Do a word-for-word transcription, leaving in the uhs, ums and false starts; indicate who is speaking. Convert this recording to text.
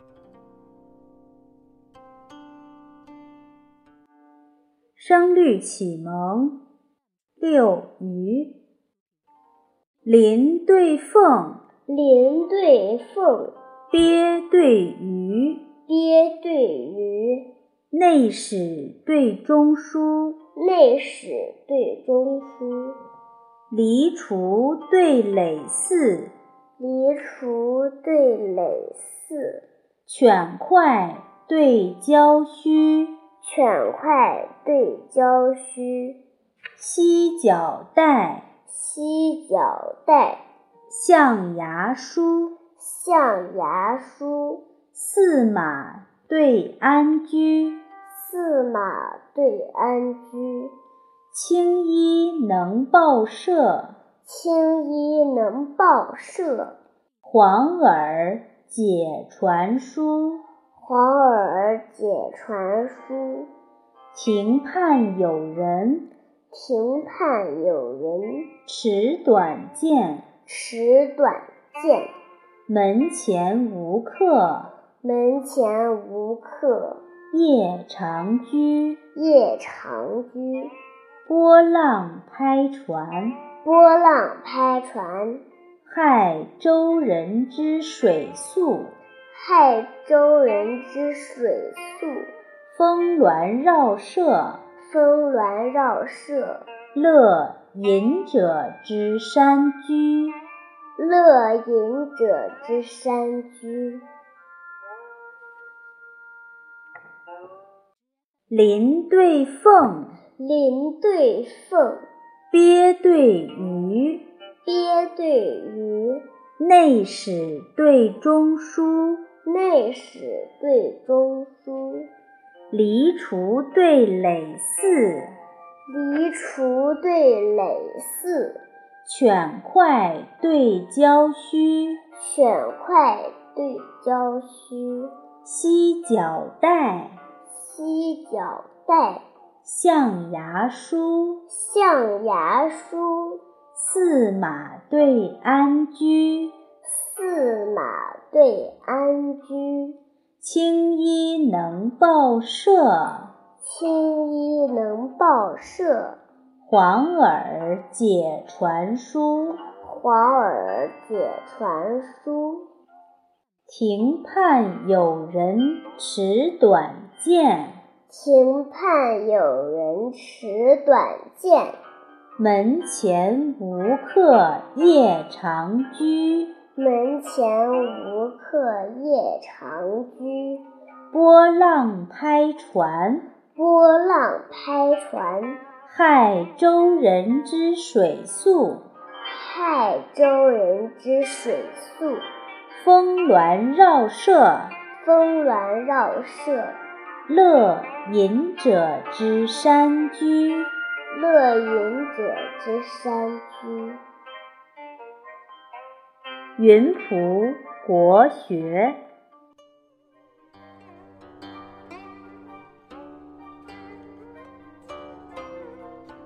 Speaker 1: 声律启蒙六余。麟对凤，
Speaker 2: 麟对凤，
Speaker 1: 鳖对鱼，
Speaker 2: 鳖对鱼，
Speaker 1: 内史对中书，
Speaker 2: 内史对中书，
Speaker 1: 黎除对耒耜，
Speaker 2: 黎除对耒耜，
Speaker 1: 犬快对郊须，
Speaker 2: 犬快对郊须，
Speaker 1: 犀角带，
Speaker 2: 犀角带，
Speaker 1: 象牙书，
Speaker 2: 象牙书，
Speaker 1: 驷马对鞍居，
Speaker 2: 驷马对鞍居，
Speaker 1: 青衣能报社，
Speaker 2: 青衣能报社，
Speaker 1: 黄耳解传书，
Speaker 2: 黄耳解传书，
Speaker 1: 庭畔有人，
Speaker 2: 庭畔有人，
Speaker 1: 持短剑，
Speaker 2: 持短剑，
Speaker 1: 门前无客，
Speaker 2: 门前无客，
Speaker 1: 夜长居，
Speaker 2: 夜长居，
Speaker 1: 波浪拍船，
Speaker 2: 波浪拍船，
Speaker 1: 害舟人之水宿，
Speaker 2: 害舟人之水宿，
Speaker 1: 峰峦绕舍，
Speaker 2: 峰峦绕舍，
Speaker 1: 乐隐者之山居，
Speaker 2: 乐隐者之山居。
Speaker 1: 麟对凤，
Speaker 2: 麟对凤，
Speaker 1: 鳖对鱼，
Speaker 2: 鳖对鱼，
Speaker 1: 内史对中书，
Speaker 2: 内史对中书，
Speaker 1: 黎除对耒耜，
Speaker 2: 黎除对耒耜，
Speaker 1: 犬快对郊须，
Speaker 2: 犬快对郊须，
Speaker 1: 犀角带，
Speaker 2: 犀角带，
Speaker 1: 象牙书，
Speaker 2: 象牙书，
Speaker 1: 驷马对鞍居，
Speaker 2: 驷马对鞍居，
Speaker 1: 青衣能报社，
Speaker 2: 青衣能报社，
Speaker 1: 黄耳解传书，
Speaker 2: 黄耳解传书，
Speaker 1: 庭畔有人持短剑，
Speaker 2: 庭畔有人持短剑，
Speaker 1: 门前无客夜长居，
Speaker 2: 门前无客夜长居，
Speaker 1: 波浪拍船，
Speaker 2: 波浪拍船，
Speaker 1: 害舟人之水宿，
Speaker 2: 害舟人之水宿，
Speaker 1: 峰峦绕舍，
Speaker 2: 峰峦绕舍，
Speaker 1: 乐隐者之山居，
Speaker 2: 乐隐者之山居。
Speaker 1: 云仆国学。